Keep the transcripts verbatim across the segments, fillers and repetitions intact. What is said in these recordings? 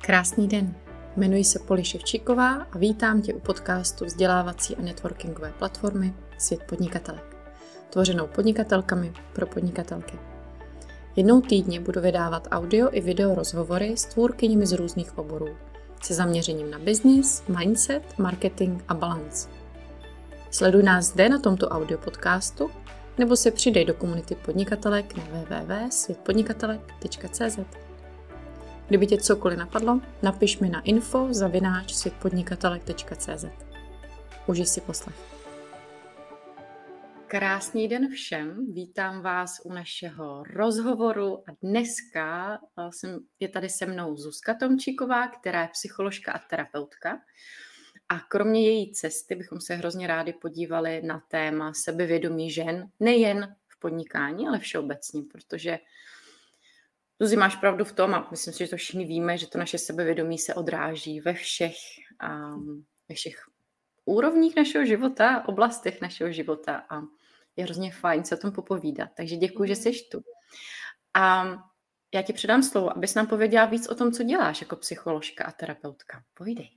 Krásný den, jmenuji se Poli Ševčíková a vítám tě u podcastu vzdělávací a networkingové platformy Svět podnikatelek, tvořenou podnikatelkami pro podnikatelky. Jednou týdně budu vydávat audio i video rozhovory s tvůrkyněmi z různých oborů, se zaměřením na business, mindset, marketing a balance. Sleduj nás zde na tomto audio podcastu nebo se přidej do komunity podnikatelek na w w w tečka svět podnikatelek tečka c z. Kdyby tě cokoliv napadlo, napiš mi na info zavináč svět podnikatelek tečka c z. Užij si poslech. Krásný den všem, vítám vás u našeho rozhovoru a dneska jsem, je tady se mnou Zuzka Tomčíková, která je psycholožka a terapeutka. A kromě její cesty bychom se hrozně rádi podívali na téma sebevědomí žen, nejen v podnikání, ale všeobecně, protože Zuzi, máš pravdu v tom, a myslím si, že to všichni víme, že to naše sebevědomí se odráží ve všech, um, ve všech úrovních našeho života, oblastech našeho života a je hrozně fajn se o tom popovídat. Takže děkuji, že jsi tu. A já ti předám slovo, abys nám pověděla víc o tom, co děláš jako psycholožka a terapeutka. Povídej.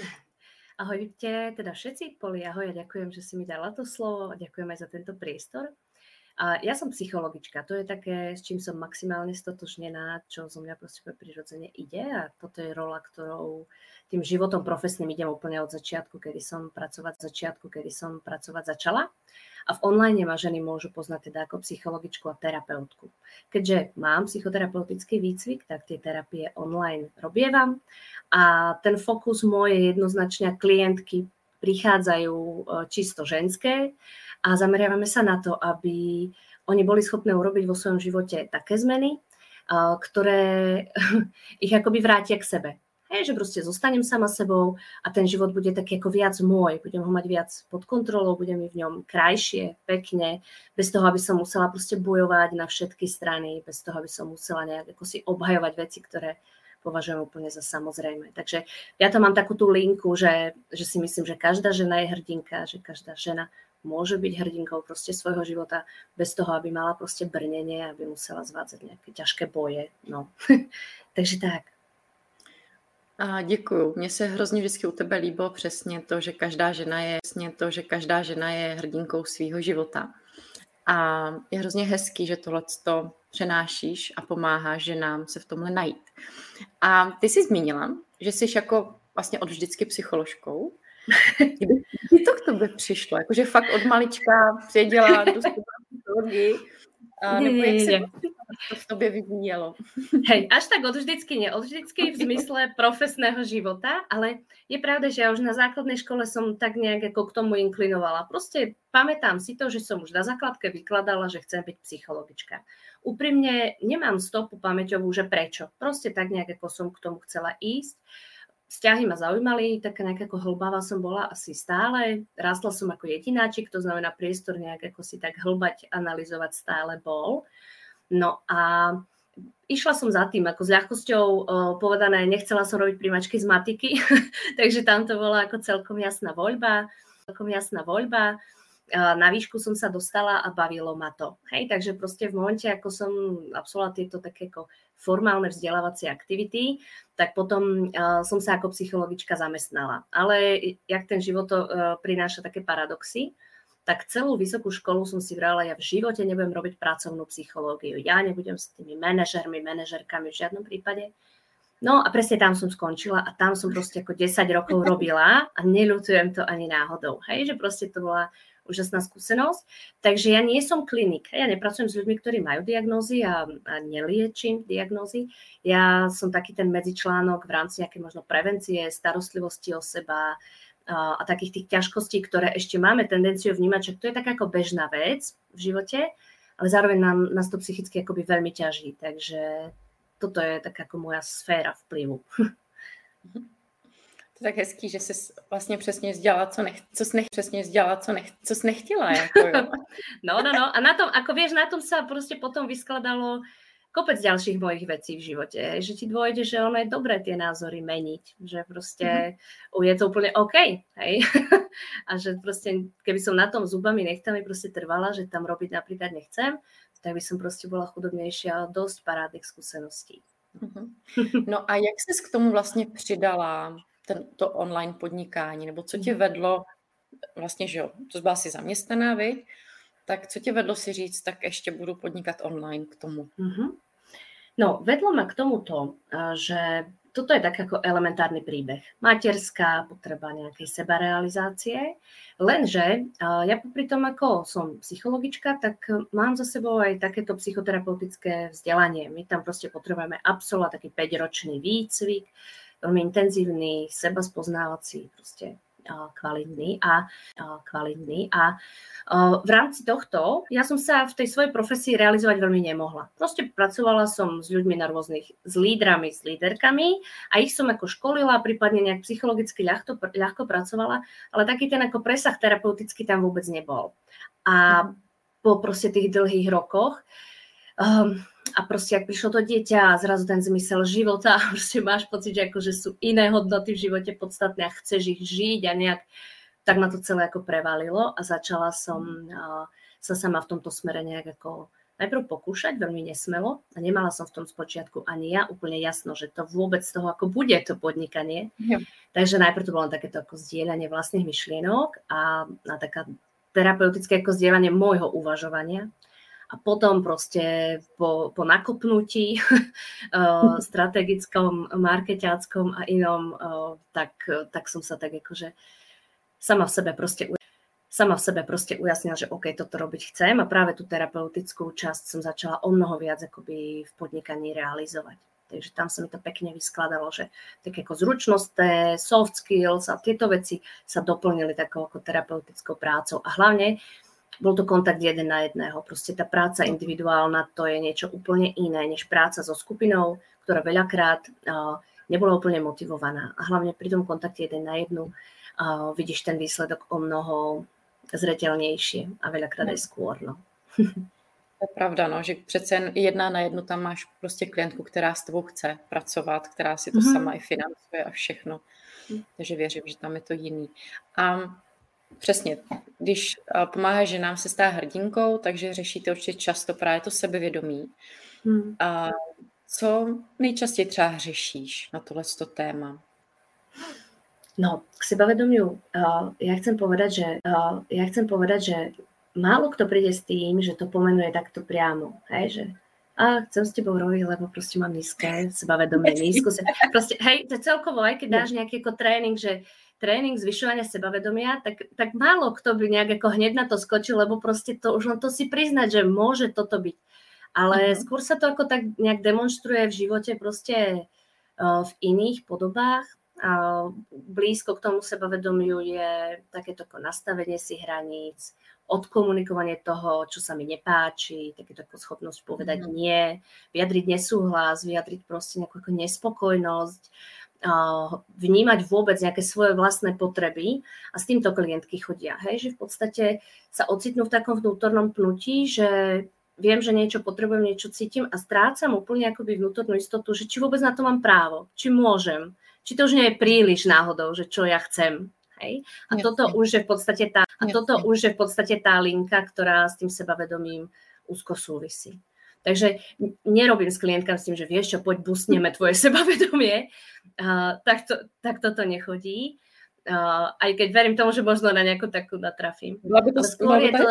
Ahojte teda všetci, Poli, ahoj, a ďakujem, že si mi dala to slovo a ďakujem aj za tento priestor. A ja som psychologička, to je také, s čím som maximálne stotožnená, čo zo mňa proste prirodzene ide a toto je rola, ktorou tým životom profesným idem úplne od začiatku, kedy som pracovať začiatku, kedy som pracovať začala. A v online ma ženy môžu poznať teda ako psychologičku a terapeutku. Keďže mám psychoterapeutický výcvik, tak tie terapie online robievam a ten fokus môj je jednoznačne, klientky prichádzajú čisto ženské a zameriavame sa na to, aby oni boli schopné urobiť vo svojom živote také zmeny, ktoré ich akoby vrátia k sebe. Hej, že proste zostanem sama sebou a ten život bude taký ako viac môj, budem ho mať viac pod kontrolou, bude mi v ňom krajšie, pekne, bez toho, aby som musela proste bojovať na všetky strany, bez toho, aby som musela nejak ako si obhajovať veci, ktoré považujem úplne za samozrejme. Takže ja tam mám takú tú linku, že, že si myslím, že každá žena je hrdinka, že každá žena môže byť hrdinkou proste svojho života bez toho, aby mala proste brnenie, aby musela zvádzať nejaké ťažké boje. No. Takže tak. A děkuju. Mně se hrozně vždycky u tebe líbilo přesně to, že každá žena je přesně to, že každá žena je hrdinkou svýho života. A je hrozně hezký, že tohleto přenášíš a pomáháš ženám se v tomhle najít. A ty jsi zmínila, že jsi jako vlastně od vždycky psycholožkou. Kdy to k tobě přišlo? Jakože fakt od malička přijedila do psychologii. A nebo jak se to v tobě vyvíjelo? Hej, až tak od vždycky, nie od vždycky v zmysle profesného života, ale je pravda, že ja už na základnej škole som tak nejak ako k tomu inklinovala. Proste pamätám si to, že som už na základke vykladala, že chcem byť psychologička. Úprimne nemám stopu pamäťovú, že prečo. Proste tak nejak ako som k tomu chcela ísť. Vzťahy ma zaujímali, taká nejak ako hlbavá som bola asi stále. Rástla som ako jedináčik, to znamená priestor nejak ako si tak hlbať, analyzovať stále bol. No a išla som za tým, ako s ľahkosťou uh, povedané, nechcela som robiť primačky z matiky, takže tam to bola ako celkom jasná voľba, celkom jasná voľba. Uh, na výšku som sa dostala a bavilo ma to. Hej, takže proste v momente, ako som absolvovala tieto také ako formálne vzdelávacie aktivity, tak potom uh, som sa ako psychologička zamestnala. Ale jak ten život to uh, prináša také paradoxy, tak celú vysokú školu som si vrala, ja v živote nebudem robiť pracovnú psychológiu. Ja nebudem s tými manažermi, manažerkami v žiadnom prípade. No a presne tam som skončila a tam som proste ako desať rokov robila a neľutujem to ani náhodou. Hej, že proste to bola úžasná skúsenosť. Takže ja nie som klinik. Ja nepracujem s ľuďmi, ktorí majú diagnózy a, a neliečím diagnózy. Ja som taký ten medzičlánok v rámci nejakej možno prevencie, starostlivosti o seba a takých tých ťažkostí, ktoré ešte máme tendenciu vnímať, že to je taká ako bežná vec v živote, ale zároveň nám, nás to psychicky akoby veľmi ťaží. Takže toto je taká ako moja sféra vplyvu. To je tak hezký, že jsi vlastně přesně dělala, co nech, co jsi nech, přesně dělala, co, nech, co jsi nechtěla. Jako, jo. No, no, no. A na tom, ako vieš, na tom sa proste potom vyskladalo kopec ďalších mojich vecí v živote, že ti dôjde, že ono je dobré tie názory meniť, že proste mm-hmm. je to úplne OK, hej? A že proste, keby som na tom zubami nechtami proste trvala, že tam robiť napríklad nechcem, tak by som proste bola chudobnejšia a dosť parádnych skúseností. Mhm. No a jak ses k tomu vlastně přidala, ten, to online podnikání, nebo co tě vedlo, vlastně, že jo, to byla si zaměstnaná, viď? Tak co tě vedlo si říct, tak ještě budu podnikat online k tomu? Mm-hmm. No, vedlo ma k tomuto, že toto je tak ako elementárny príbeh. Materská potreba nejakej sebarealizácie, lenže ja popri tom, ako som psychologička, tak mám za sebou aj takéto psychoterapeutické vzdelanie. My tam proste potrebujeme absolvovať taký päťročný výcvik, veľmi intenzívny, sebaspoznávací, proste kvalitný a kvalitný a v rámci tohto ja som sa v tej svojej profesii realizovať veľmi nemohla. Proste pracovala som s ľuďmi na rôznych, s lídrami, s líderkami a ich som ako školila, prípadne nejak psychologicky ľahko, ľahko pracovala, ale taký ten ako presah terapeutický tam vôbec nebol. A po proste tých dlhých rokoch um, a proste, ak prišlo to dieťa a zrazu ten zmysel života a proste máš pocit, že akože sú iné hodnoty v živote podstatné a chceš ich žiť a nejak, tak ma to celé ako prevalilo a začala som uh, sa sama v tomto smere nejak ako najprv pokúšať, veľmi nesmelo a nemala som v tom spočiatku ani ja úplne jasno, že to vôbec z toho ako bude to podnikanie. Ja. Takže najprv to bolo takéto ako zdieľanie vlastných myšlienok a, a taká terapeutické ako zdieľanie môjho uvažovania. A potom proste po, po nakopnutí strategickom, markeťáckom a inom, tak, tak som sa tak akože sama v sebe proste sama v sebe proste ujasnila, že OK, toto robiť chcem a práve tú terapeutickú časť som začala o mnoho viac akoby v podnikaní realizovať. Takže tam sa mi to pekne vyskladalo, že tak ako zručnosť, soft skills a tieto veci sa doplnili takou ako terapeutickou prácou a hlavne bol to kontakt jeden na jedného. Proste tá práca individuálna, to je niečo úplne iné, než práca so skupinou, ktorá veľakrát uh, nebola úplne motivovaná. A hlavne pri tom kontakte jeden na jednu uh, vidíš ten výsledok o mnoho zreteľnejšie a veľakrát aj skôr. No. To je pravda, no, že přece jen jedna na jednu tam máš prostě klientku, která s tebou chce pracovat, která si to mm-hmm. sama i financuje a všechno. Mm. Takže věřím, že tam je to jiný. A přesně, když pomáháš ženám se stát hrdinkou, takže řešíte určitě často právě to sebevědomí. Hmm. A co nejčastěji třeba řešíš na tohleto téma? No, k sebavedomiu uh, ja chcem povedať, že uh, ja chcem povedať, že málo kto príde s tým, že to pomenuje takto priamo, hej, že a chcem s tebou robiť, lebo proste mám nízke sebavedomie, nízku se... Proste, hej, to celkovo, aj keď dáš nejaký ako tréning, že tréning zvyšovania sebavedomia, tak, tak málo kto by nejak ako hneď na to skočil, lebo proste to už len to si priznať, že môže toto byť. Ale uh-huh. skôr sa to ako tak nejak demonstruje v živote proste uh, v iných podobách. Uh, blízko k tomu sebavedomiu je takéto ako nastavenie si hraníc, odkomunikovanie toho, čo sa mi nepáči, takéto ako schopnosť povedať uh-huh. nie, vyjadriť nesúhlas, vyjadriť proste nejakú ako nespokojnosť, vnímať vôbec nejaké svoje vlastné potreby a s týmto klientky chodia. Hej, že v podstate sa ocitnú v takom vnútornom pnutí, že viem, že niečo potrebujem, niečo cítim a strácam úplne akoby vnútornú istotu, že či vôbec na to mám právo, či môžem, či to už nie je príliš náhodou, že čo ja chcem. Hej? A Jasne. toto už je v podstate tá, a toto už je v podstate tá linka, ktorá s tým sebavedomím úzko súvisí. Takže nerobím s klientkami s tým, že vieš čo, poď busneme tvoje sebavedomie. Uh, tak, to, tak toto nechodí. Uh, aj keď verím tomu, že možno na nejakú takú natrafím. Bola by to skôr je to...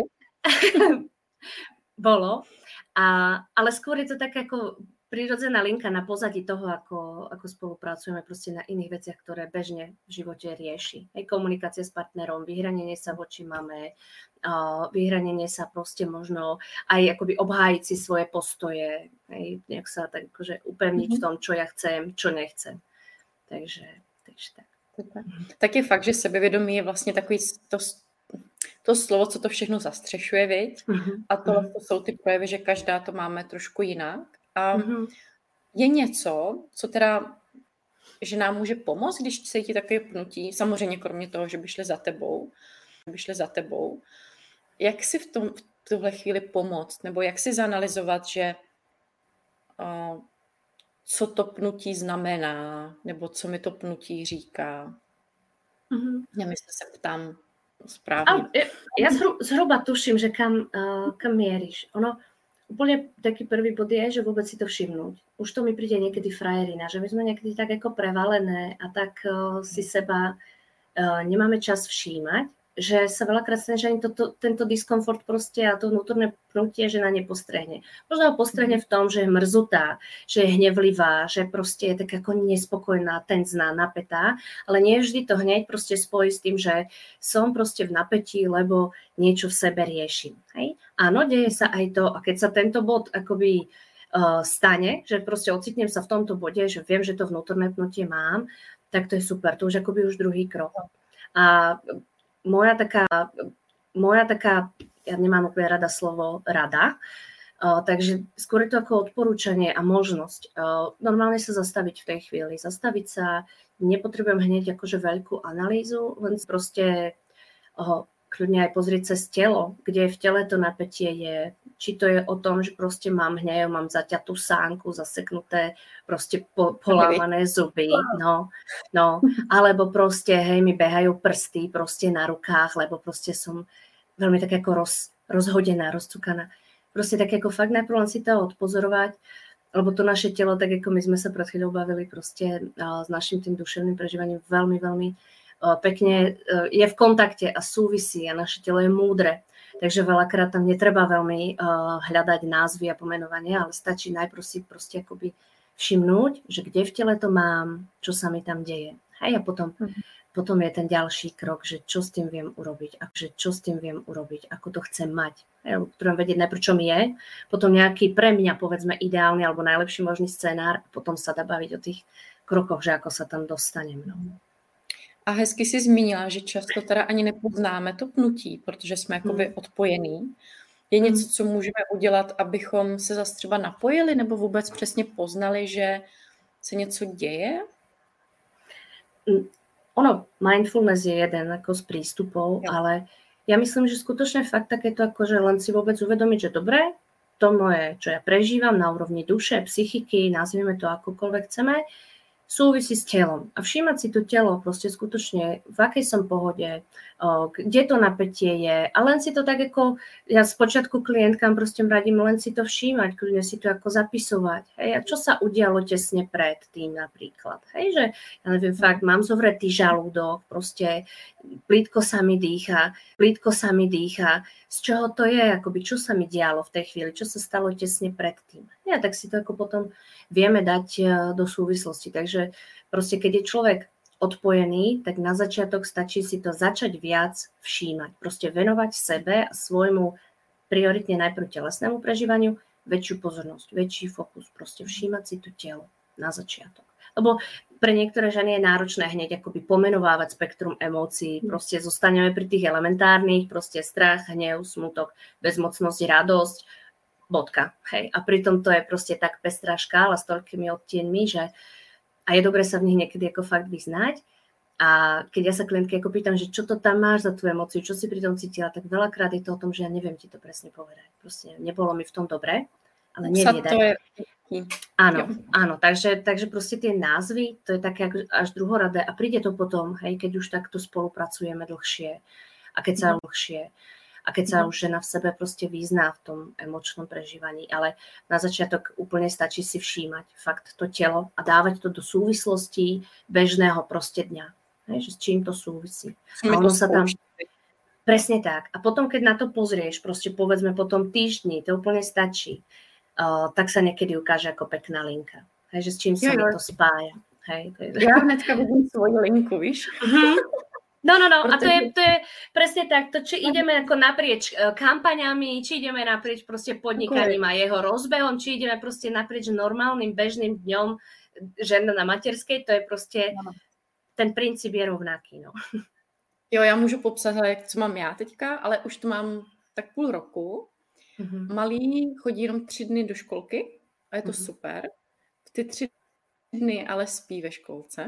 Bolo. A, ale skôr je to tak ako prirodzená linka na pozadí toho, ako, ako spolupracujeme proste na iných veciach, ktoré bežne v živote rieši. Hej, komunikácia s partnerom, vyhranenie sa voči mame, uh, vyhranenie sa proste možno aj akoby obhájiť si svoje postoje, hej, nejak sa tak akože upevniť mm-hmm. v tom, čo ja chcem, čo nechcem. Takže, takže tak. Tak je fakt, že sebevědomí je vlastně takový to, to slovo, co to všechno zastřešuje, viď? Mm-hmm. A to, to jsou ty projevy, že každá to máme trošku jinak. A mm-hmm. je něco, co teda, že nám může pomoct, když cítí takové pnutí, samozřejmě kromě toho, že by šli za tebou, by šli za tebou, jak si v, tom, v tuhle chvíli pomoct, nebo jak si zanalyzovat, že uh, co to pnutí znamená, nebo co mi to pnutí říká. Mm-hmm. Nevím, jestli se ptám správně. A, ja zhruba tuším, že kam, uh, kam mieríš. Ono úplne taký prvý bod je, že vôbec si to všimnúť. Už to mi príde niekedy frajerina, že my sme niekedy tak ako prevalené a tak uh, si seba uh, nemáme čas všímať, že sa veľakrát stane, že ani toto, tento diskomfort proste a to vnútorné pnutie žena nepostrehne. Možno ho postrehne v tom, že je mrzutá, že je hnevlivá, že proste je tak ako nespokojná, tenzná, napätá, ale nie vždy to hneď proste spojí s tým, že som proste v napätí, lebo niečo v sebe riešim. Hej? Áno, deje sa aj to, a keď sa tento bod akoby uh, stane, že proste ocitnem sa v tomto bode, že viem, že to vnútorné pnutie mám, tak to je super, to už akoby už druhý krok. A Moja taká, moja taká, ja nemám úplne rada slovo rada, uh, takže skôr je to ako odporúčanie a možnosť. Uh, normálne sa zastaviť v tej chvíli. Zastaviť sa, nepotrebujem hneď akože veľkú analýzu, len proste uh, kľudne aj pozrieť cez telo, kde v tele to napätie je. Či to je o tom, že proste mám hnev, mám zaťatú sánku, zaseknuté, proste po, polámané zuby, no, no, alebo proste, hej, mi behajú prsty proste na rukách, lebo proste som veľmi tak ako roz, rozhodená, rozcukaná. Proste tak ako fakt najprv len si to odpozorovať, lebo to naše telo, tak ako my sme sa pred chvíľou bavili proste uh, s našim tým duševným prežívaním veľmi, veľmi uh, pekne uh, je v kontakte a súvisí a naše telo je múdre. Takže veľakrát tam netreba veľmi uh, hľadať názvy a pomenovanie, ale stačí najprv si proste akoby všimnúť, že kde v tele to mám, čo sa mi tam deje. Hej, a potom, mm. potom je ten ďalší krok, že čo s tým viem urobiť, a že čo s tým viem urobiť, ako to chcem mať. Hej, potrebujem vedieť najprv, čo mi je, potom nejaký pre mňa, povedzme, ideálny alebo najlepší možný scenár, a potom sa dá baviť o tých krokoch, že ako sa tam dostanem. No. A hezky si zmínila, že často teda ani nepoznáme to pnutí, protože jsme jakoby hmm. odpojení. Je hmm. něco, co můžeme udělat, abychom se zase třeba napojili nebo vůbec přesně poznali, že se něco děje? Ono, mindfulness je jeden ako z prístupov, ja. Ale ja myslím, že skutočne fakt takéto ako, že len si vôbec uvedomiť, že dobre, to moje, čo ja prežívam na úrovni duše, psychiky, nazvieme to akokoľvek chceme, súvisí s telom. A všímať si to telo proste skutočne, v akej som pohode, kde to napätie je. A len si to tak ako, ja spočiatku klientkám proste radím len si to všímať, kľudne si to ako zapisovať. Hej, a čo sa udialo tesne pred tým napríklad. Hej, že ja neviem, fakt mám zovretý žalúdok, proste plítko sa mi dýcha, plítko sa mi dýcha. Z čoho to je, akoby, čo sa mi dialo v tej chvíli, čo sa stalo tesne pred tým. Ja, tak si to ako potom vieme dať do súvislosti. Takže proste, keď je človek odpojený, tak na začiatok stačí si to začať viac všímať. Proste venovať sebe a svojmu prioritne najprv telesnému prežívaniu väčšiu pozornosť, väčší fokus. Proste všímať si to telo na začiatok. Lebo pre niektoré ženy je náročné hneď akoby pomenovávať spektrum emócií. Proste zostaneme pri tých elementárnych, proste strach, hnev, smutok, bezmocnosť, radosť, bodka. Hej. A pritom to je proste tak pestrá škála s toľkými odtienmi, že a je dobré sa v nich niekedy ako fakt vyznať. A keď ja sa klientky ako pýtam, že čo to tam máš za tú emóciu, čo si pri tom cítila, tak veľakrát je to o tom, že ja neviem ti to presne povedať. Proste nebolo mi v tom dobre, ale neviedať. Je... Áno, áno, takže, takže proste tie názvy, to je také až druhoradé a príde to potom, hej, keď už takto spolupracujeme dlhšie a keď sa mm. dlhšie a keď sa mm. už žena v sebe proste vyzná v tom emočnom prežívaní, ale na začiatok úplne stačí si všímať fakt to telo a dávať to do súvislostí bežného proste dňa, hej, že s čím to súvisí. A ono sa tam... Presne tak. A potom, keď na to pozrieš, proste povedzme po tom týždni, to úplne stačí. Uh, tak sa niekedy ukáže ako pekná linka. Hej, že s čím sa mi to spája. Hej, to je... Ja hnedka vidím svoju linku, víš? Uh-huh. No, no, no. Protože... A to je, to je presne tak. To, či ideme ako naprieč kampaňami, či ideme naprieč proste podnikaním a jeho rozbehom, či ideme proste naprieč normálnym, bežným dňom žena na materskej, to je proste, no. Ten princíp je rovnaký, no. Jo, já můžu popsat, jak co mám já teďka, ale už to mám tak půl roku. Mm-hmm. Malý chodí jenom tři dny do školky a je to mm-hmm. super. V ty tři dny ale spí ve školce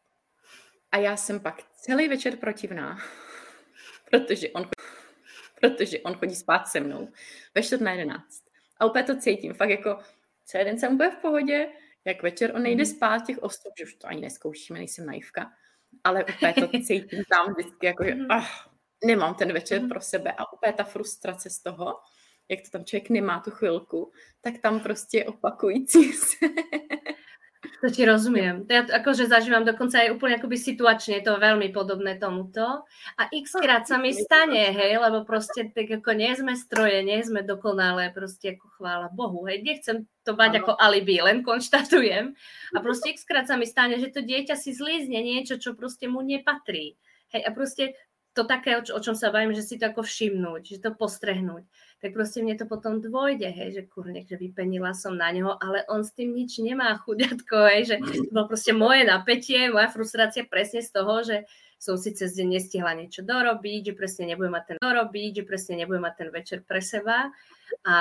a já jsem pak celý večer protivná, protože on chodí, protože on chodí spát se mnou ve čtvrt na jedenáct. A úplně to cítím, fakt jako celý den jsem úplně v pohodě, jak večer on nejde mm-hmm. spát těch osm, že už to ani neskoušíme, nejsem naivka, ale úplně to cítím tam vždycky, jako že ah, nemám ten večer mm-hmm. pro sebe a úplně ta frustrace z toho, jak to tam člověk nemá tu chvilku, tak tam prostě opakující se. To ti rozumiem. Ja akože zažívam dokonca aj úplne akoby situačne, je to veľmi podobné tomuto. A x krát sa mi stane, hej, lebo proste tak ako nie sme stroje, nie sme dokonalé, proste ako chvála Bohu, hej, nechcem to mať ako alibi, len konštatujem. A proste x krát sa mi stane, že to dieťa si zlízne niečo, čo proste mu nepatrí. Hej, a proste to také, o čom sa bavím, že si to ako všimnúť, že to postrehnúť, tak proste mne to potom dôjde, hej, že kurne, že vypenila som na neho, ale on s tým nič nemá, chuďatko, hej, že to bolo proste moje napätie, moja frustrácia presne z toho, že som si cez deň nestihla niečo dorobiť, že presne nebudem mať ten dorobiť, že presne nebudem mať ten večer pre seba. A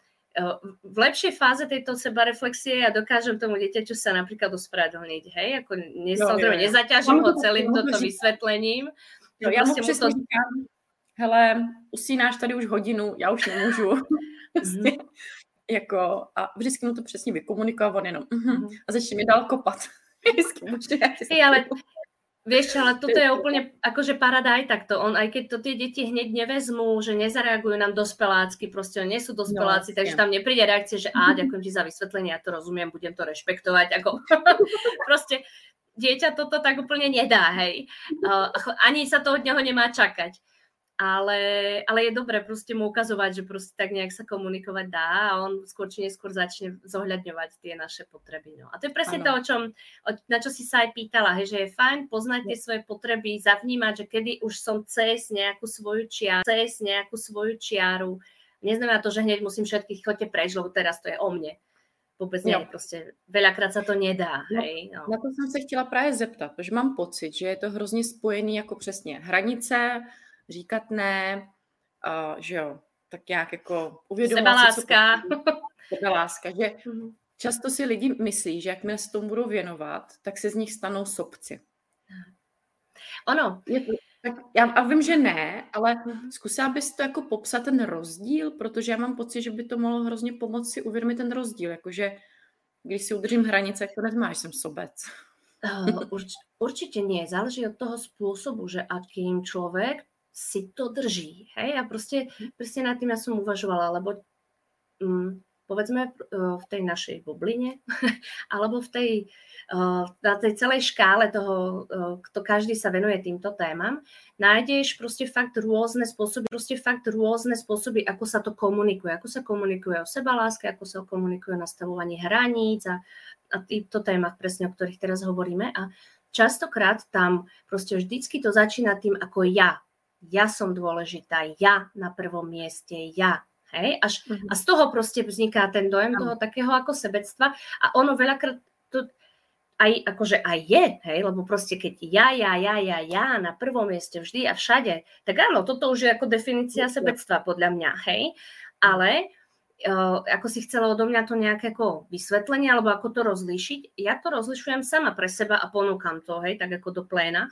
v lepšej fáze tejto sebareflexie ja dokážem tomu dieťaťu sa napríklad ospravedlniť, hej, ako ne, no, samozrejme nezaťažím ho celým toto vysvetlením. Jo, já mu přesně to... říkám, hele, usínáš tady už hodinu, já už nemůžu. Prostě, jako, a vždycky mu to přesně vykomunikoval, on jenom uh-huh, a začne mi dál kopat. Vždycky může, hey, ale vieš, ale toto je úplne akože parada aj takto. On, aj keď to tie deti hneď nevezmú, že nezareagujú nám dospelácky, proste nie sú dospeláci, no, takže tam nepríde reakcia, že á, ďakujem ti za vysvetlenie, ja to rozumiem, budem to rešpektovať. Ako, proste dieťa toto tak úplne nedá, hej. Uh, ani sa to od neho nemá čakať. Ale, ale je dobré proste mu ukazovať, že proste tak nejak sa komunikovať dá a on skôr či neskôr začne zohľadňovať tie naše potreby. No. A to je presne ano. To, o čom, na čo si sa aj pýtala, hej, že je fajn poznať tie svoje potreby, zavnímať, že kedy už som cez nejakú svoju čiaru, cez nejakú svoju čiaru. Neznamená to, že hneď musím všetkých chodte preč, lebo teraz to je o mne. Vůbec ne, prostě veľakrát se to nedá. No, hej, no. Na to jsem se chtěla právě zeptat, protože mám pocit, že je to hrozně spojený jako přesně hranice, říkat ne, uh, že jo, tak nějak jako uvědomovat si, sebaláska. Sebaláska, že často si lidi myslí, že jakmile se tomu budou věnovat, tak se z nich stanou sobci. Ono. Je to, tak já a vím, že ne, ale zkusila bys to jako popsat ten rozdíl, protože já mám pocit, že by to mohlo hrozně pomoct si uvědomit ten rozdíl, jakože když si udržím hranice, jak to nezmáš, jsem sobec. Uh, urč, určite nie, záleží od toho spôsobu, že akým človek si to drží, hej, a proste presne nad tým ja som uvažovala, lebo um, povedzme v tej našej bubline, alebo v tej, na tej celej škále toho, kto každý sa venuje týmto témam, nájdeš proste fakt rôzne spôsoby, proste fakt rôzne spôsoby, ako sa to komunikuje, ako sa komunikuje o sebaláske, ako sa komunikuje o nastavovaní hraníc a, a týchto témach presne, o ktorých teraz hovoríme. A častokrát tam proste vždycky to začína tým ako ja. Ja som dôležitá, ja na prvom mieste, ja. Hej, až, uh-huh. A z toho proste vzniká ten dojem toho takého ako sebectva a ono veľakrát to aj, akože aj je, hej, lebo proste keď ja, ja, ja, ja, ja na prvom mieste vždy a všade, tak áno, toto už je ako definícia sebectva podľa mňa, hej, ale uh, ako si chcela odo mňa to nejaké ako vysvetlenie, alebo ako to rozlíšiť, ja to rozlišujem sama pre seba a ponúkam to, hej, tak ako do pléna.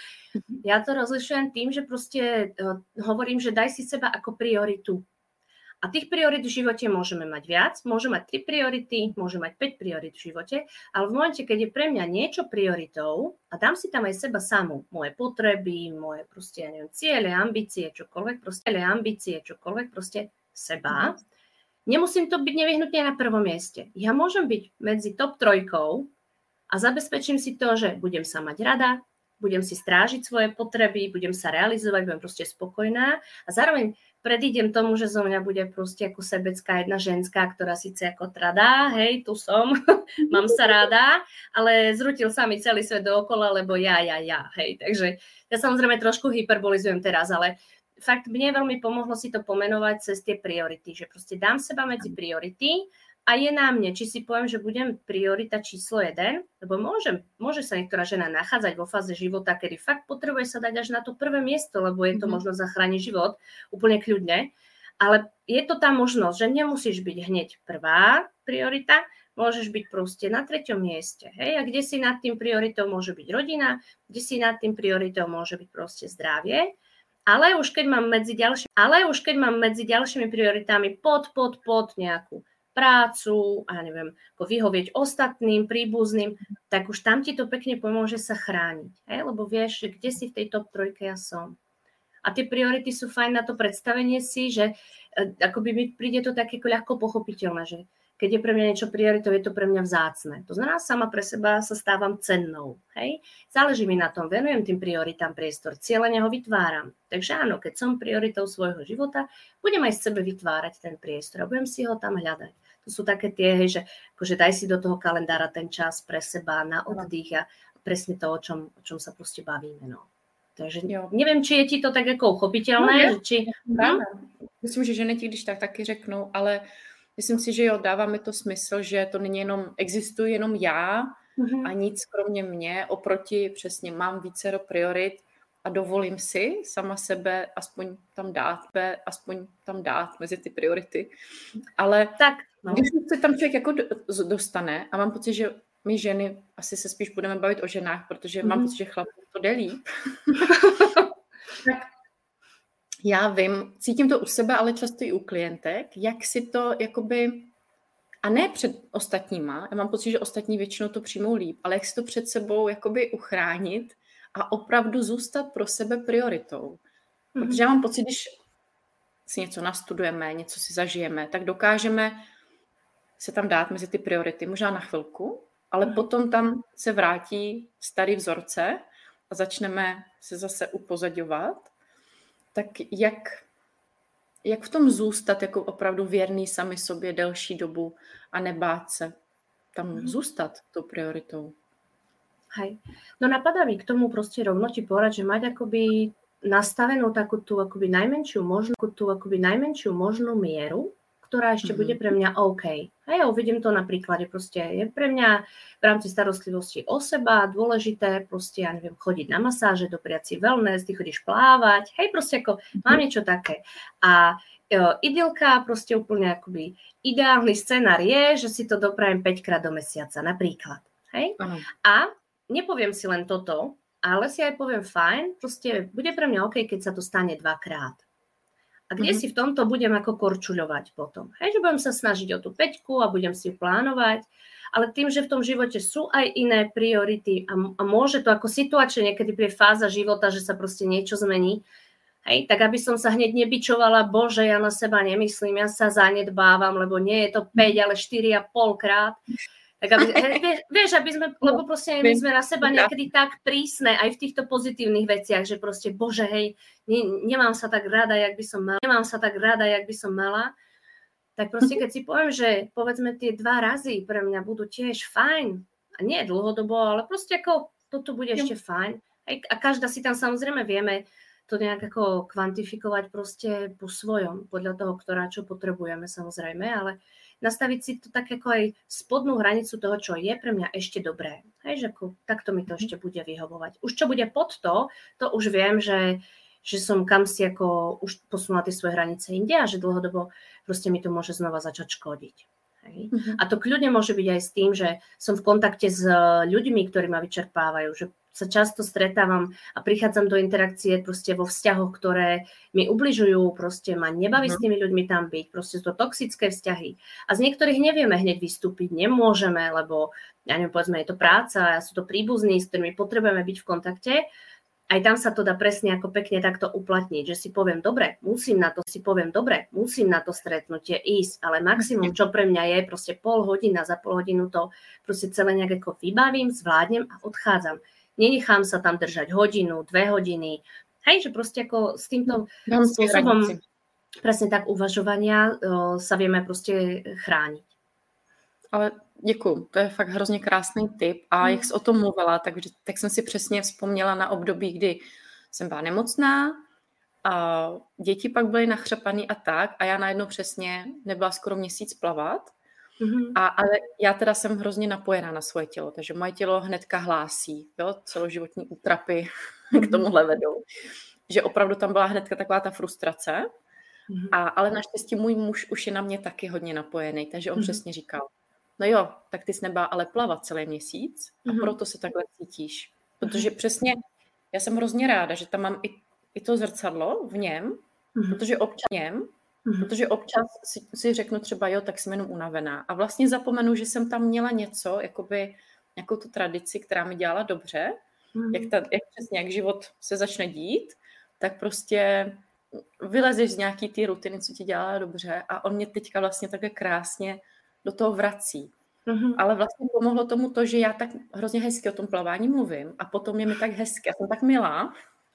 Ja to rozlišujem tým, že proste uh, hovorím, že daj si seba ako prioritu. A tých priorit v živote môžeme mať viac, môžeme mať tri priority, môžeme mať päť priorit v živote, ale v momente, keď je pre mňa niečo prioritou a dám si tam aj seba samú, moje potreby, moje proste, ja neviem, ciele, ambície, čokoľvek, proste ambície, čokoľvek, proste seba, mm. nemusím to byť nevyhnutne na prvom mieste. Ja môžem byť medzi top trojkou a zabezpečím si to, že budem sa mať rada, budem si strážiť svoje potreby, budem sa realizovať, budem proste spokojná a zároveň predídem tomu, že zo mňa bude proste ako sebecká jedna ženská, ktorá síce ako tradá, hej, tu som, mám sa rada, ale zrutil sa mi celý svet dookola, lebo ja, ja, ja, hej. Takže ja samozrejme trošku hyperbolizujem teraz, ale fakt mne veľmi pomohlo si to pomenovať cez tie priority, že proste dám seba medzi priority a je na mne, či si poviem, že budem priorita číslo jeden, lebo môžem, môže sa niektorá žena nachádzať vo fáze života, kedy fakt potrebuje sa dať až na to prvé miesto, lebo je to mm-hmm. možno zachrániť život úplne kľudne, ale je to tá možnosť, že nemusíš byť hneď prvá priorita, môžeš byť proste na treťom mieste, hej, a kde si nad tým prioritou môže byť rodina, kde si nad tým prioritou môže byť proste zdravie, ale už keď mám medzi ďalšími, ale už keď mám medzi ďalšími prioritami pod, pod, pod nejakú prácu, a neviem, ako vyhovieť ostatným, príbuzným, tak už tam ti to pekne pomôže sa chrániť. Hej? Lebo vieš, že kde si v tej top trojke ja som. A tie priority sú fajn na to predstavenie si, že akoby mi príde to také ľahko pochopiteľné, že keď je pre mňa niečo prioritou, je to pre mňa vzácne. To znamená, sama pre seba sa stávam cennou. Hej? Záleží mi na tom, venujem tým prioritám priestor, cieľene ho vytváram. Takže áno, keď som prioritou svojho života, budem aj z sebe vytvárať ten priestor a budem si ho tam hľadať. To sú také tie, hej, že akože daj si do toho kalendára ten čas pre seba na oddych a presne to, o čom, o čom sa proste bavíme. No. Takže jo. Neviem, či je ti to tak jako uchopitelné. No, že či... hm? Myslím, že ženy ti když tak taky řeknou, ale myslím si, že jo, dává mi to smysl, že to není jenom, existuje jenom já mm-hmm. a nic kromě mě, oproti přesně mám vícero priorit a dovolím si sama sebe aspoň tam dát, aspoň tam dát mezi ty priority. Ale tak, no. Když se tam člověk jako dostane a mám pocit, že my ženy, asi se spíš budeme bavit o ženách, protože mm-hmm. mám pocit, že chlapů to jde líp. Tak já vím, cítím to u sebe, ale často i u klientek, jak si to jakoby, a ne před ostatníma, já mám pocit, že ostatní většinou to přijmou líp, ale jak si to před sebou jakoby uchránit a opravdu zůstat pro sebe prioritou. Mm-hmm. Protože já mám pocit, když si něco nastudujeme, něco si zažijeme, tak dokážeme se tam dát mezi ty priority, možná na chvilku, ale mm-hmm. potom tam se vrátí starý vzorce a začneme se zase upozadňovat. Tak jak, jak v tom zůstat jako opravdu věrný sami sobě delší dobu a nebát se tam mm. zůstat tou prioritou? Hej. No napadá mi k tomu prostě rovno ti povedať, že mať akoby nastavenú takú tú akoby najmenšiu možnú, tú akoby najmenšiu možnú mieru, ktorá ešte mm. bude pre mňa OK. A ja uvidím to na príklade. Proste je pre mňa v rámci starostlivosti o seba dôležité proste, ja neviem, chodiť na masáže, dopriať si wellness, ty chodíš plávať, hej, proste ako mm. mám niečo také. A jo, idylka, proste úplne akoby ideálny scenár je, že si to doprajem päťkrát do mesiaca, napríklad. Hej? Mm. A nepoviem si len toto, ale si aj poviem fajn, proste bude pre mňa OK, keď sa to stane dvakrát. A kde mm-hmm. si v tomto budem ako korčuľovať potom. Hej, že budem sa snažiť o tú päťku a budem si ju plánovať, ale tým, že v tom živote sú aj iné priority a, a môže to ako situačne niekedy príde fáza života, že sa proste niečo zmení, hej, tak aby som sa hneď nebičovala, bože, ja na seba nemyslím, ja sa zanedbávam, lebo nie je to päť, ale štyri a pol krát. Tak aby, vieš, vieš, aby sme, lebo proste my sme na seba niekedy tak prísne aj v týchto pozitívnych veciach, že proste, bože, hej, ne, nemám sa tak rada, jak by som mala, nemám sa tak rada, jak by som mala, tak proste keď si poviem, že povedzme tie dva razy pre mňa budú tiež fajn, a nie dlhodobo, ale proste ako toto bude ešte fajn, a každá si tam samozrejme vieme to nejak ako kvantifikovať proste po svojom, podľa toho, ktorá čo potrebujeme samozrejme, ale nastaviť si to tak ako aj spodnú hranicu toho, čo je pre mňa ešte dobré. Hej, že ako, takto mi to ešte bude vyhovovať. Už čo bude pod to, to už viem, že, že som kam si ako už posunula tie svoje hranice inde a že dlhodobo proste mi to môže znova začať škodiť. Hej. Mm-hmm. A to kľudne môže byť aj s tým, že som v kontakte s ľuďmi, ktorí ma vyčerpávajú, že sa často stretávam a prichádzam do interakcie proste vo vzťahoch, ktoré mi ubližujú, proste ma nebaví mm-hmm. s tými ľuďmi tam byť, proste sú to toxické vzťahy. A z niektorých nevieme hneď vystúpiť, nemôžeme, lebo, ja neviem, povedzme, je to práca, sú to príbuzní, s ktorými potrebujeme byť v kontakte. Aj tam sa to dá presne ako pekne takto uplatniť, že si poviem, dobre, musím na to, si poviem, dobre, musím na to stretnutie ísť, ale maximum, čo pre mňa je, proste pol hodina, za pol hodinu to proste celé nejak ako vybavím, zvládnem a odchádzam. Nenechám sa tam držať hodinu, dve hodiny. Hej, že proste ako s týmto Dám spôsobom presne tak uvažovania o, sa vieme proste chrániť. Ale děkuju, to je fakt hrozně krásný tip a jak jsi o tom mluvila, tak, tak jsem si přesně vzpomněla na období, kdy jsem byla nemocná a děti pak byly nachřapaný a tak a já najednou přesně nebyla skoro měsíc plavat. Mm-hmm. A, ale já teda jsem hrozně napojená na svoje tělo, takže moje tělo hnedka hlásí, jo, celoživotní útrapy mm-hmm. k tomuhle vedou. Že opravdu tam byla hnedka taková ta frustrace, mm-hmm. a, ale naštěstí můj muž už je na mě taky hodně napojený, takže on mm-hmm. přesně říkal, no jo, tak ty jsi nebá ale plavat celý měsíc a mm-hmm. proto se takhle cítíš. Protože přesně, já jsem hrozně ráda, že tam mám i, i to zrcadlo v něm, mm-hmm. protože občas něm, mm-hmm. protože občas si, si řeknu třeba, jo, tak jsem jenom unavená. A vlastně zapomenu, že jsem tam měla něco, jakoby nějakou tu tradici, která mi dělala dobře, mm-hmm. jak, ta, jak přesně, jak život se začne dít, tak prostě vylezeš z nějaký ty rutiny, co ti dělá dobře a on mě teďka vlastně takhle krásně do toho vrací. Mm-hmm. Ale vlastně pomohlo tomu to, že já tak hrozně hezky o tom plavání mluvím a potom je mi tak hezky, já jsem tak milá.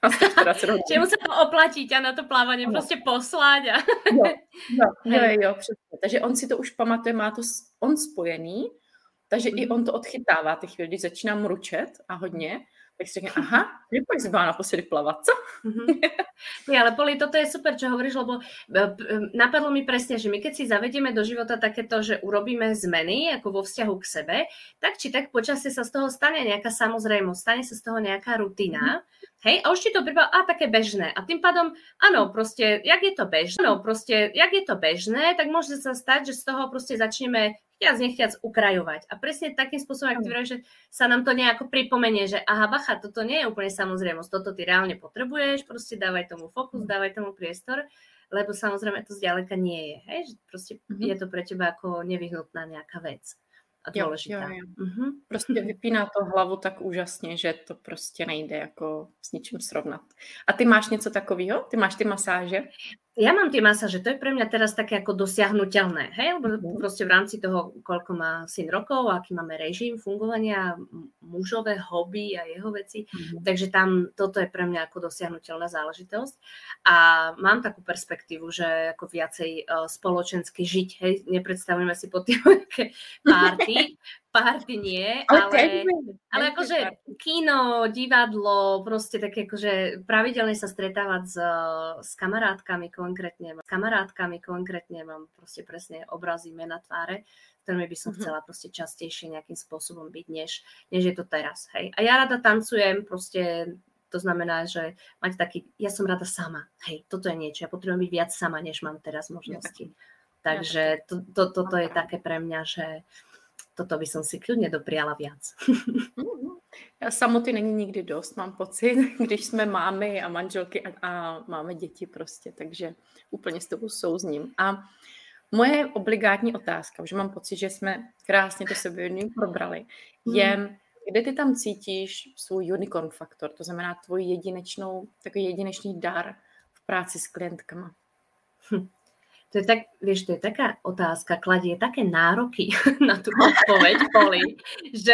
Čiže mu sa to oplatiť a na to plávanie no. proste poslať. A... Jo, jo, jo, jo, přesně. Takže on si to už pamatuje, má to on spojený, takže mm-hmm. i on to odchytává ty chvíli, když začíná mručet a hodně, tak si řekne, aha, že pak si byla naposledy plavat, co? Mm-hmm. Ja, ale Poli, toto je super, čo hovoríš, lebo napadlo mi presne, že my keď si zavedieme do života takéto, že urobíme zmeny ako vo vzťahu k sebe, tak či tak počasie sa z toho stane nejaká samozrejmosť, stane sa z toho nejaká rutina, hej, a už ti to prípada, a také bežné. A tým pádom, áno, proste, jak je to bežné, no, proste, jak je to bežné, tak môže sa stať, že z toho proste začneme chtiac nechtiac ukrajovať. A presne takým spôsobom, ak ty vravíš, že sa nám to nejako pripomenie, že aha, bacha, toto nie je úplne samozrejmosť, toto ty reálne potrebuješ, proste dávaj tomu fokus, dávaj tomu priestor, lebo samozrejme to zďaleka nie je, hej, že proste mm-hmm. je to pre teba ako nevyhnutná nejaká vec. A dôležitá. Jo, jo, jo. Uh-huh. Prostě vypíná to hlavu tak úžasně, že to prostě nejde jako s ničím srovnat. A ty máš něco takového? Ty máš ty masáže? Ja mám tie masáže, to je pre mňa teraz také ako dosiahnuteľné, hej, lebo uh-huh. proste v rámci toho, koľko má syn rokov, aký máme režim fungovania, mužové hobby a jeho veci, uh-huh. takže tam toto je pre mňa ako dosiahnuteľná záležitosť. A mám takú perspektívu, že ako viacej uh, spoločensky žiť, hej, nepredstavujeme si pod tým nejaké párty, párty nie, ale, ale akože kino, divadlo, proste také akože pravidelne sa stretávať s, s kamarátkami konkrétne, s kamarátkami konkrétne mám proste presne obrazy, mena, tváre, ktorými by som chcela proste častejšie nejakým spôsobom byť, než, než je to teraz, hej. A ja rada tancujem, proste to znamená, že mať taký, ja som rada sama, hej, toto je niečo, ja potrebujem byť viac sama, než mám teraz možnosti. Takže to, to, toto je také pre mňa, že toto by som si kľudne dopriala viac. Já samoty není nikdy dost, mám pocit, když jsme mámy a manželky a, a máme děti prostě, takže úplně s tebou souzním. A moje obligátní otázka, že mám pocit, že jsme krásně to sebevědomí probrali, je, hmm. kde ty tam cítíš svůj unicorn faktor, to znamená tvoji jedinečnou, takový jedinečný dar v práci s klientkama. Hm. To je tak, vieš, to je taká otázka, kladie také nároky na tú odpoveď, Poli, že,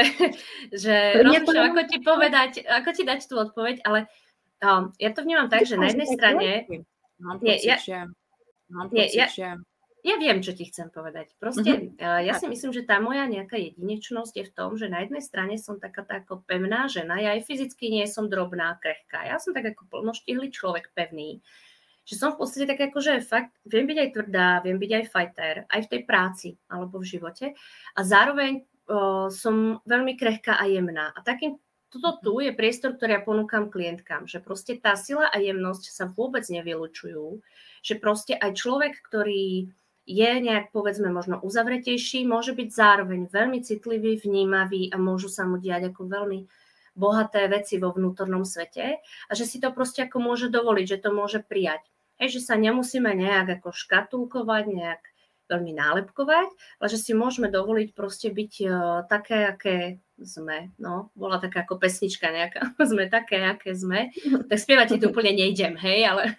že rozmýšľam, ako ti povedať, ako ti dať tú odpoveď, ale um, ja to vnímam tak, že na jednej strane... Mám pocit, ja, že... Mám pocit, ja, že... Ja viem, čo ti chcem povedať. Proste, uh-huh. ja si myslím, že tá moja nejaká jedinečnosť je v tom, že na jednej strane som taká tá ako pevná žena, ja aj fyzicky nie som drobná, krehká. Ja som tak ako plnoštihlý človek pevný. Že som v podstate tak ako, že fakt viem byť aj tvrdá, viem byť aj fighter, aj v tej práci alebo v živote a zároveň o, som veľmi krehká a jemná. A takým, toto tu je priestor, ktorý ja ponúkam klientkám, že proste tá sila a jemnosť sa vôbec nevylučujú, že proste aj človek, ktorý je nejak, povedzme, možno uzavretejší, môže byť zároveň veľmi citlivý, vnímavý a môžu sa mu diať ako veľmi bohaté veci vo vnútornom svete a že si to proste ako môže dovoliť, že to môže prijať. Hej, že sa nemusíme nejak ako škatulkovať, nejak veľmi nálepkovať, ale že si môžeme dovoliť proste byť uh, také, aké sme. No, bola taká ako pesnička nejaká, sme také, aké sme. Tak spievať tu úplne nejdem, hej, ale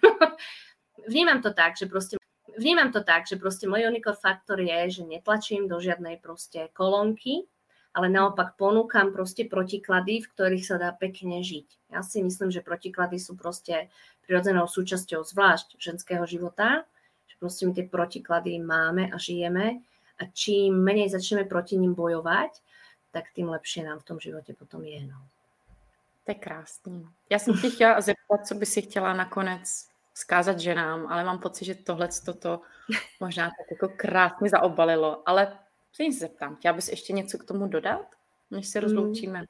vnímam to tak, že proste vnímam to tak, že proste môj unicorn faktor je, že netlačím do žiadnej proste kolónky, ale naopak ponúkam proste protiklady, v ktorých sa dá pekne žiť. Ja si myslím, že protiklady sú proste prirodzenou súčasťou zvlášť ženského života, že proste my tie protiklady máme a žijeme a čím menej začneme proti ním bojovať, tak tým lepšie nám v tom živote potom je. No. To je krásný. Já jsem tě chtěla zeptat, co by si chtěla nakonec vzkázat ženám, ale mám pocit, že tohle toto možná tak jako krásně zaobalilo, ale se se zeptám, chtěla bys ještě něco k tomu dodat, než se rozloučíme?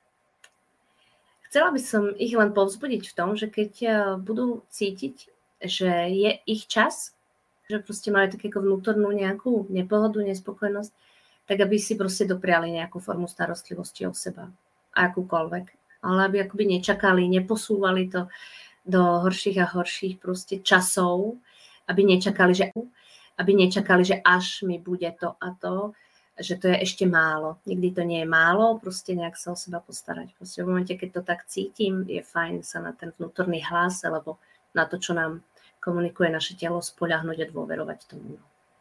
Chcela by som ich len povzbudiť v tom, že keď budú cítiť, že je ich čas, že proste majú takú vnútornú nejakú nepohodu, nespokojnosť, tak aby si proste dopriali nejakú formu starostlivosti o seba. Akúkoľvek. Ale aby akoby nečakali, neposúvali to do horších a horších proste časov, aby nečakali, že, aby nečakali, že až mi bude to a to, že to je ešte málo. Nikdy to nie je málo, proste nejak sa o seba postarať. Proste v momente, keď to tak cítim, je fajn sa na ten vnútorný hlas alebo na to, čo nám komunikuje naše tělo, spoľahnúť a dôverovať tomu.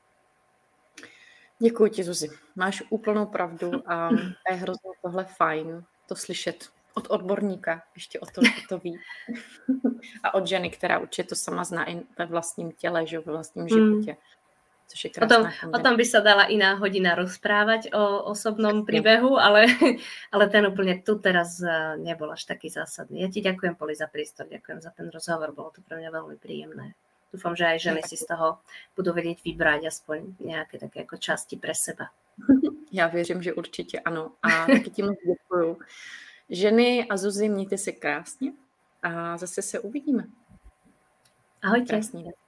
Děkuji ti, Zuzi. Máš úplnou pravdu a je hrozně tohle fajn to slyšet od odborníka, ještě o to, o to ví. A od ženy, která určitě to sama zná i ve vlastním těle, že ve vlastním životě. Což je krásná o, tom, o tom by sa dala iná hodina rozprávať o osobnom príbehu, ale, ale ten úplne tu teraz nebol až taký zásadný. Ja ti ďakujem, Poli, za prístor, ďakujem za ten rozhovor, bolo to pre mňa veľmi príjemné. Dúfam, že aj ženy si z toho budú vedieť vybrať aspoň nejaké také ako časti pre seba. Já věřím, že určitě ano. A taky ti moc děkuju. Ženy a Zuzi, mějte se krásně a zase se uvidíme. Ahojte. Krásný den.